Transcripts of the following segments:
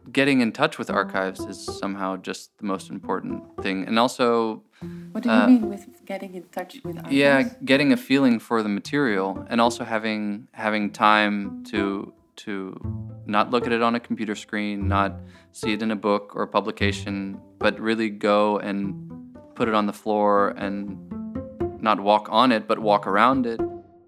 getting in touch with archives is somehow just the most important thing. And also... What do you mean with getting in touch with archives? Yeah, getting a feeling for the material and also having time to not look at it on a computer screen, not see it in a book or a publication, but really go and put it on the floor and not walk on it, but walk around it.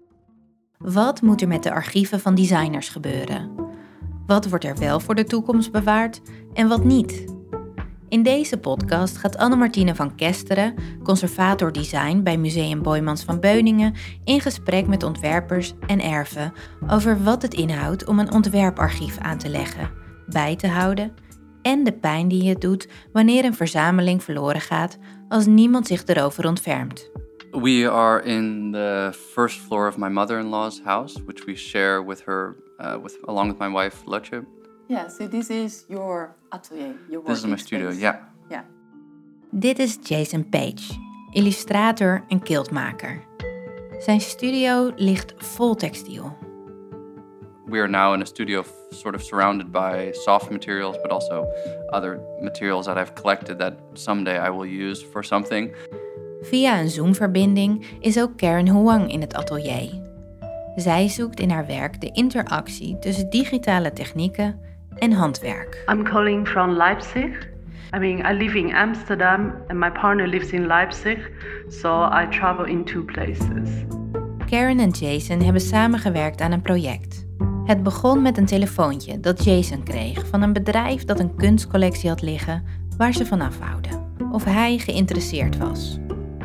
Wat moet er met de archieven van designers gebeuren? Wat wordt er wel voor de toekomst bewaard en wat niet? In deze podcast gaat Anne-Martine van Kesteren, conservator design bij Museum Boijmans van Beuningen, in gesprek met ontwerpers en erven over wat het inhoudt om een ontwerparchief aan te leggen, bij te houden en de pijn die het doet wanneer een verzameling verloren gaat als niemand zich erover ontfermt. We are in the first floor of my mother-in-law's house, which we share with her, along with my wife, Lotte. Yeah, so this is your atelier, your working This is my studio, space. yeah. Yeah. Dit is Jason Page, illustrator en quiltmaker. Zijn studio ligt vol textiel. We are now in a studio sort of surrounded by soft materials, but also other materials that I've collected that someday I will use for something. Via een Zoom-verbinding is ook Karen Huang in het atelier. Zij zoekt in haar werk de interactie tussen digitale technieken en handwerk. I'm calling from Leipzig. I live in Amsterdam and my partner lives in Leipzig, so I travel in two places. Karen en Jason hebben samengewerkt aan een project. Het begon met een telefoontje dat Jason kreeg van een bedrijf dat een kunstcollectie had liggen waar ze van afhouden. Of hij geïnteresseerd was.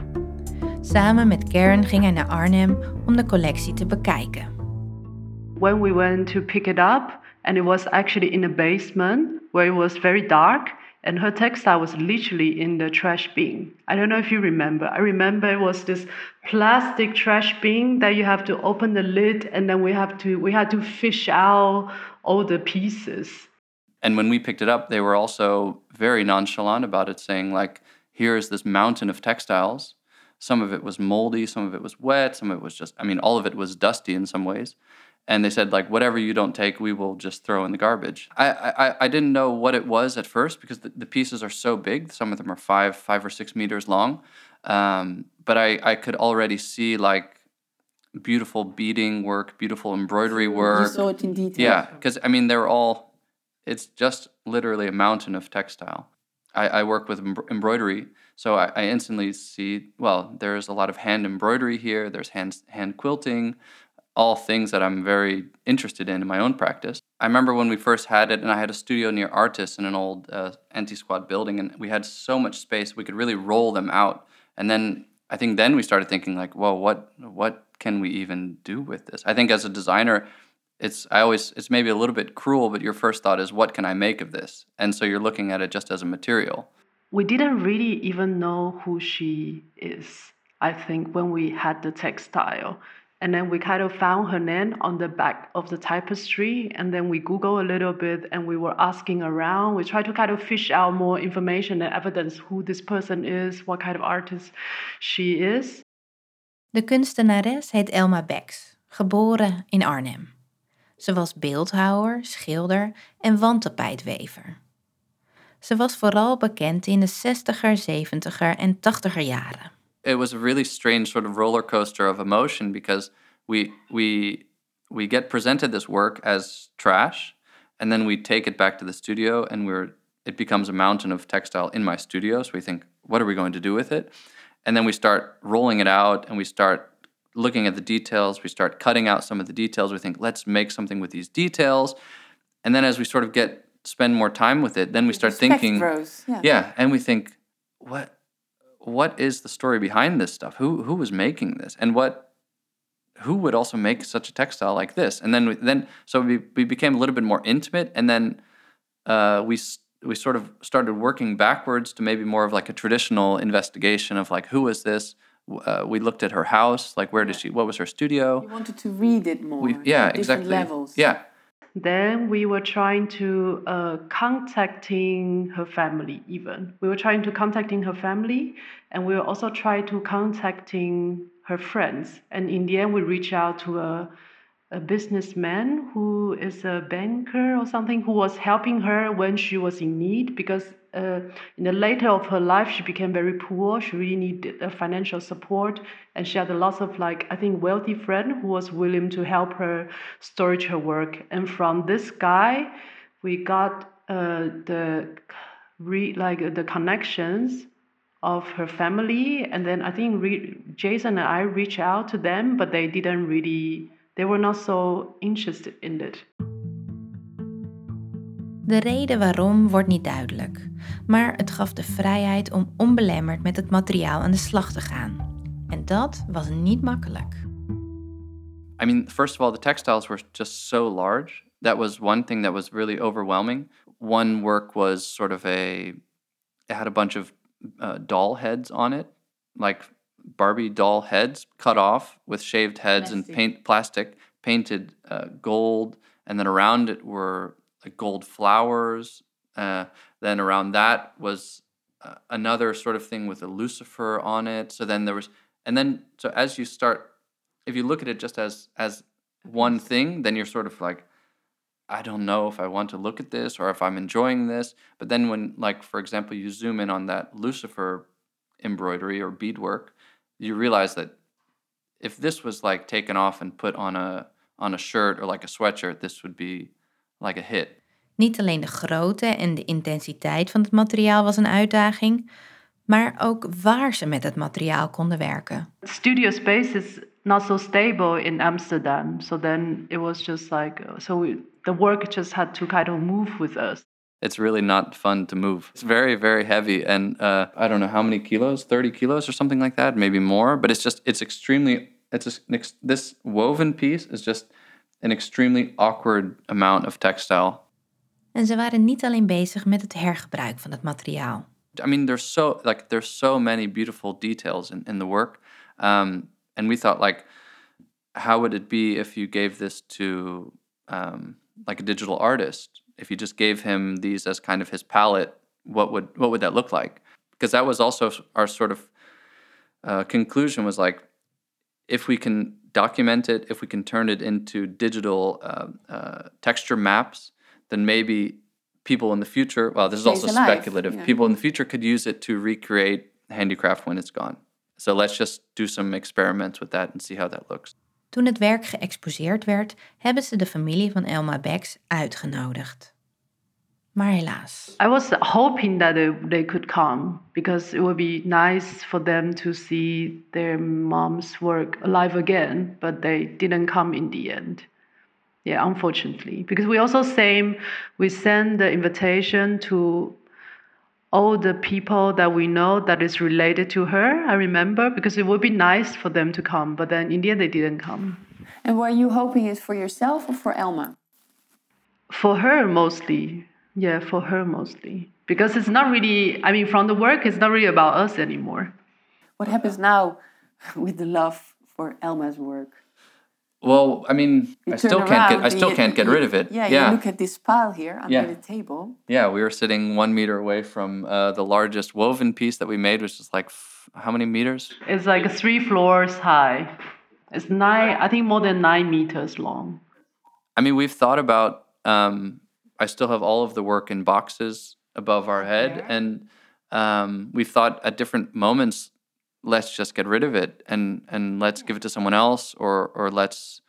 Samen met Karen ging hij naar Arnhem om de collectie te bekijken. When we went to pick it up, and it was actually in a basement where it was very dark, and her textile was literally in the trash bin. I don't know if you remember. I remember it was this plastic trash bin that you have to open the lid, and then we had to fish out all the pieces. And when we picked it up, they were also very nonchalant about it, saying like, here is this mountain of textiles. Some of it was moldy, some of it was wet, some of it was just, all of it was dusty in some ways. And they said, like, whatever you don't take, we will just throw in the garbage. I didn't know what it was at first because the pieces are so big. Some of them are 5 or 6 meters long. But I could already see, like, beautiful beading work, beautiful embroidery work. You saw it in detail. Yeah, because, it's just literally a mountain of textile. I work with embroidery, so I instantly see, well, there's a lot of hand embroidery here, there's hand quilting, all things that I'm very interested in my own practice. I remember when we first had it, and I had a studio near Artis in an old anti-squat building, and we had so much space, we could really roll them out. And then, I think then we started thinking like, whoa, what can we even do with this? I think as a designer, it's maybe a little bit cruel, but your first thought is, what can I make of this? And so you're looking at it just as a material. We didn't really even know who she is, I think, when we had the textile. And then we kind of found her name on the back of the tapestry. And then we Googled a little bit and we were asking around. We tried to kind of fish out more information and evidence who this person is, what kind of artist she is. De kunstenares heet Elma Becks, geboren in Arnhem. Ze was beeldhouwer, schilder en wandtapijtwever. Ze was vooral bekend in de 60er, 70er en 80er jaren. It was a really strange sort of roller coaster of emotion because we get presented this work as trash, and then we take it back to the studio, and it becomes a mountain of textile in my studio. So we think, what are we going to do with it? And then we start rolling it out, and we start looking at the details. We start cutting out some of the details. We think, let's make something with these details. And then as we sort of spend more time with it, then we start thinking, and we think, what is the story behind this stuff? Who was making this? And who would also make such a textile like this? And then we became a little bit more intimate, and then we sort of started working backwards to maybe more of like a traditional investigation of like, who is this? We looked at her house, like what was her studio? You wanted to read it more. Exactly. Levels. Yeah. Then we were trying to contacting her family even. We were trying to contacting her family, and we were also trying to contacting her friends. And in the end, we reached out to a a businessman who is a banker or something who was helping her when she was in need because in the later of her life she became very poor. She really needed financial support, and she had a lot of I think wealthy friend who was willing to help her storage her work. And from this guy, we got the connections of her family, and then I think Jason and I reached out to them, but they were not so interested in it. De reden waarom wordt niet duidelijk, maar het gaf de vrijheid om onbelemmerd met het materiaal aan de slag te gaan. En dat was niet makkelijk. I mean, first of all, the textiles were just so large. That was one thing that was really overwhelming. One work was sort of it had a bunch of doll heads on it, like Barbie doll heads cut off with shaved heads and plastic painted gold, and then around it were like gold flowers. Then around that was another sort of thing with a Lucifer on it. So then so as you start, if you look at it just as one thing, then you're sort of like, I don't know if I want to look at this or if I'm enjoying this. But then when, like, for example, you zoom in on that Lucifer embroidery or beadwork, you realize that if this was like taken off and put on a shirt or like a sweatshirt, this would be like a hit. Niet alleen de grootte en de intensiteit van het materiaal was een uitdaging, maar ook waar ze met het materiaal konden werken. Studio space is not so stable in Amsterdam, so then it was just the work just had to kind of move with us. It's really not fun to move. It's very, very heavy, and I don't know how many kilos, 30 kilos or something like that, maybe more. But this woven piece is just an extremely awkward amount of textile. En ze waren niet alleen bezig met het hergebruik van het materiaal. I mean, there's so many beautiful details in the work, and we thought how would it be if you gave this to like a digital artist? If you just gave him these as kind of his palette, what would that look like? Because that was also our sort of conclusion was like, if we can document it, if we can turn it into digital texture maps, then maybe people in the future, well, this is also speculative, yeah. People in the future could use it to recreate handicraft when it's gone. So let's just do some experiments with that and see how that looks. Toen het werk geëxposeerd werd, hebben ze de familie van Elma Becks uitgenodigd. Maar helaas. I was hoping that they could come because it would be nice for them to see their mom's work alive again, but they didn't come in the end. Yeah, unfortunately. Because we send the invitation to all the people that we know that is related to her, I remember, because it would be nice for them to come, but then in the end they didn't come. And were you hoping it for yourself or for Elma? For her mostly. Yeah, for her mostly. Because it's not really, I mean, from the work, it's not really about us anymore. What happens now with the love for Elma's work? Well, I mean, I still can't get rid of it. Yeah, you look at this pile here under the table. Yeah, we were sitting 1 meter away from the largest woven piece that we made, which is like, how many meters? It's like 3 floors high. It's I think more than 9 meters long. I mean, we've thought about, I still have all of the work in boxes above our head. And we've thought at different moments, let's just get rid of it and let's give it to someone else or let's,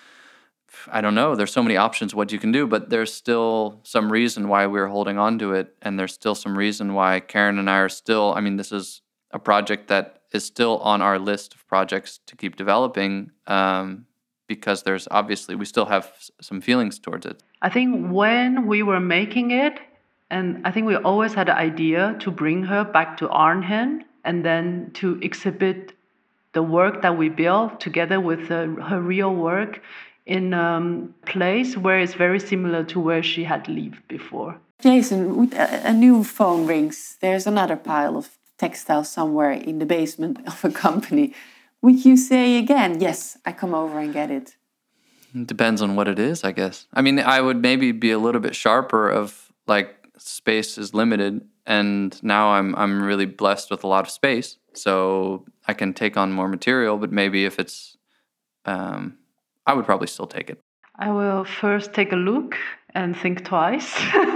I don't know, there's so many options what you can do, but there's still some reason why we're holding on to it. And there's still some reason why Karen and I are still, I mean, this is a project that is still on our list of projects to keep developing because there's obviously, we still have some feelings towards it. I think when we were making it, and I think we always had the idea to bring her back to Arnhem and then to exhibit the work that we built together with her real work in a place where it's very similar to where she had lived before. Jason, a new phone rings. There's another pile of textiles somewhere in the basement of a company. Would you say again, yes, I come over and get it? It depends on what it is, I guess. I mean, I would maybe be a little bit sharper of like space is limited, and now I'm really blessed with a lot of space, so I can take on more material. But maybe if it's I would probably still take it. I will first take a look and think twice.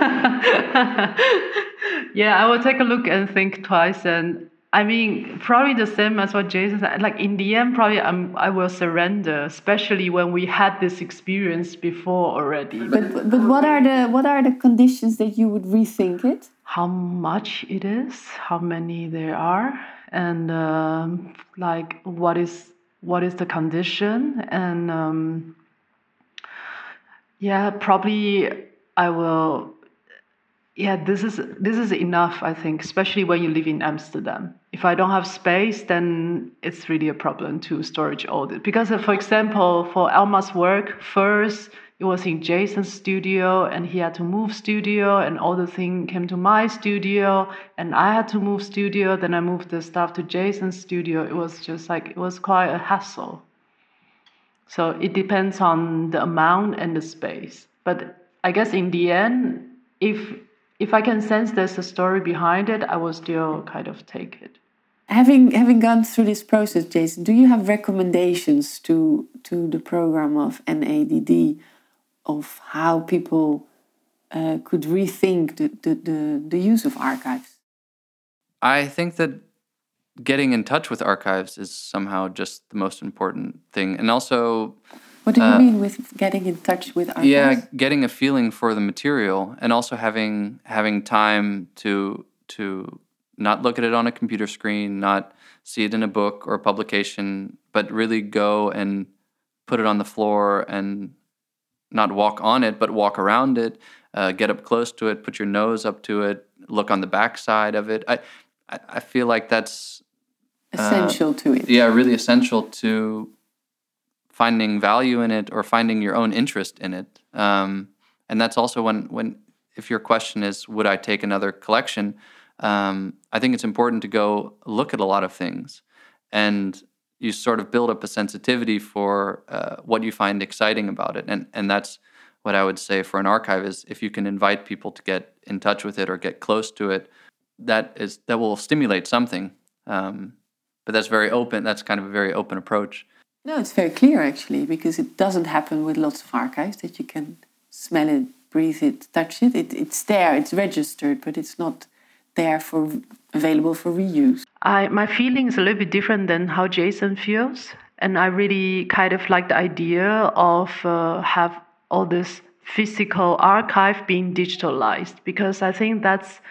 Yeah, I will take a look and think twice. And I mean, probably the same as what Jason said. Like in the end, probably I will surrender, especially when we had this experience before already. But what are the conditions that you would rethink it? How much it is, how many there are, and like what is the condition, and yeah, probably I will. Yeah, this is enough, I think, especially when you live in Amsterdam. If I don't have space, then it's really a problem to storage all this. Because, for example, for Alma's work, first it was in Jason's studio, and he had to move studio, and all the thing came to my studio, and I had to move studio. Then I moved the stuff to Jason's studio. It was just like, it was quite a hassle. So it depends on the amount and the space. But I guess in the end, if I can sense there's a story behind it, I will still kind of take it. Having gone through this process, Jason, do you have recommendations to the program of NADD of how people could rethink the use of archives? I think that getting in touch with archives is somehow just the most important thing. And also... What do you mean with getting in touch with archives? Yeah, getting a feeling for the material, and also having time to not look at it on a computer screen, not see it in a book or a publication, but really go and put it on the floor and not walk on it, but walk around it, get up close to it, put your nose up to it, look on the back side of it. I feel like that's... essential to it. Yeah, really essential to finding value in it or finding your own interest in it. And that's also when if your question is, would I take another collection? I think it's important to go look at a lot of things, and you sort of build up a sensitivity for what you find exciting about it. And that's what I would say for an archive is if you can invite people to get in touch with it or get close to it, that will stimulate something. But that's very open. That's kind of a very open approach. No, it's very clear actually, because it doesn't happen with lots of archives that you can smell it, breathe it, touch it. It's there, it's registered, but it's not there available for reuse. My feeling is a little bit different than how Jason feels, and I really kind of like the idea of have all this physical archive being digitalized, because I think that's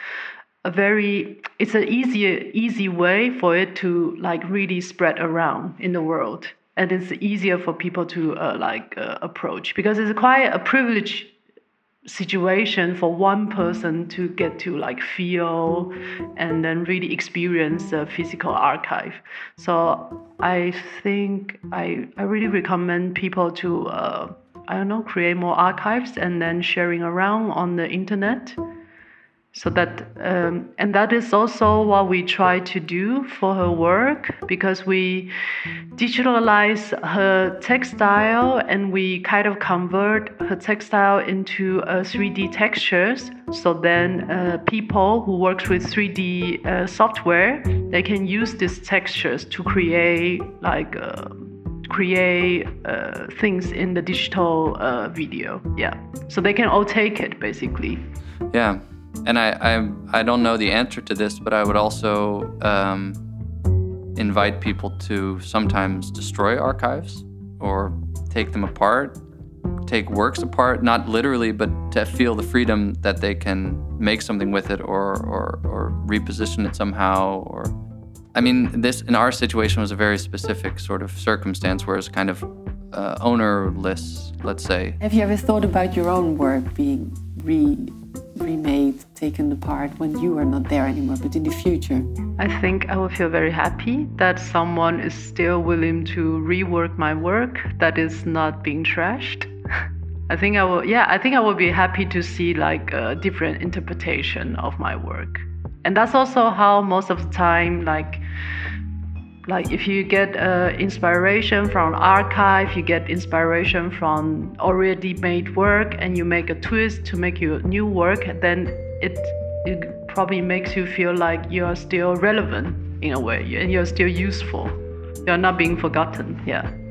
it's an easy way for it to like really spread around in the world. And it's easier for people to approach, because it's quite a privileged situation for one person to get to like feel and then really experience the physical archive. So I think I really recommend people to create more archives and then sharing around on the internet. So that and that is also what we try to do for her work, because we digitalize her textile and we kind of convert her textile into 3D textures. So then people who work with 3D software, they can use these textures to create things in the digital video. Yeah, so they can all take it basically. Yeah. And I don't know the answer to this, but I would also invite people to sometimes destroy archives or take them apart, take works apart, not literally, but to feel the freedom that they can make something with it or reposition it somehow. Or, I mean, this in our situation was a very specific sort of circumstance where it's kind of ownerless, let's say. Have you ever thought about your own work being remade, taken apart when you are not there anymore, but in the future? I think I will feel very happy that someone is still willing to rework my work that is not being trashed. I think I will be happy to see like a different interpretation of my work. And that's also how most of the time, like if you get inspiration from archive, you get inspiration from already made work, and you make a twist to make your new work, then it probably makes you feel like you're still relevant in a way, and you're still useful. You're not being forgotten. Yeah.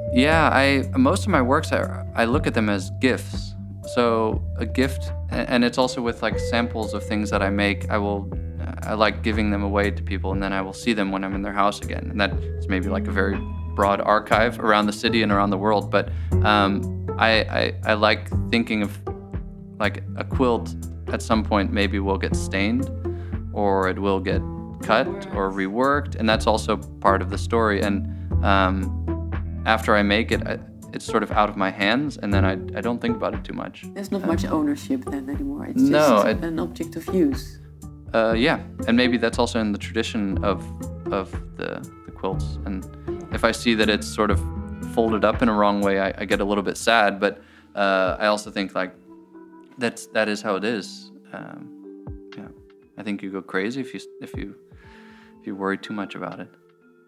Most of my works, I look at them as gifts. So a gift, and it's also with like samples of things that I make. I like giving them away to people, and then I will see them when I'm in their house again. And that is maybe like a very broad archive around the city and around the world. But I like thinking of like a quilt at some point maybe will get stained, or it will get cut or reworked, and that's also part of the story. And after I make it, it's sort of out of my hands, and then I don't think about it too much. There's not much ownership then anymore. It's just an object of use. Yeah, and maybe that's also in the tradition of the quilts. And if I see that it's sort of folded up in a wrong way, I get a little bit sad. But I also think like that is how it is. Yeah, I think you go crazy if you worry too much about it.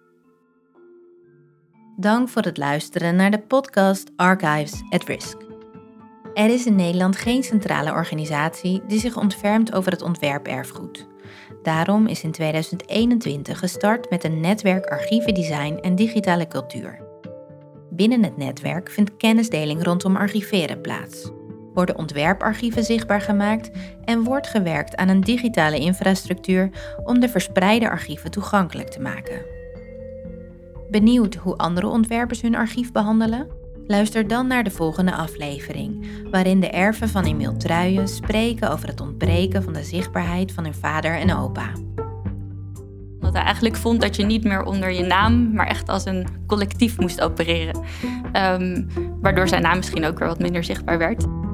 Dank voor het luisteren naar de podcast Archives at Risk. Er is in Nederland geen centrale organisatie die zich ontfermt over het ontwerperfgoed. Daarom is in 2021 gestart met een netwerk archievendesign en digitale cultuur. Binnen het netwerk vindt kennisdeling rondom archiveren plaats. Worden ontwerparchieven zichtbaar gemaakt en wordt gewerkt aan een digitale infrastructuur om de verspreide archieven toegankelijk te maken. Benieuwd hoe andere ontwerpers hun archief behandelen? Luister dan naar de volgende aflevering, waarin de erven van Emiel Truijen spreken over het ontbreken van de zichtbaarheid van hun vader en opa. Dat hij eigenlijk vond dat je niet meer onder je naam, maar echt als een collectief moest opereren. Waardoor zijn naam misschien ook weer wat minder zichtbaar werd.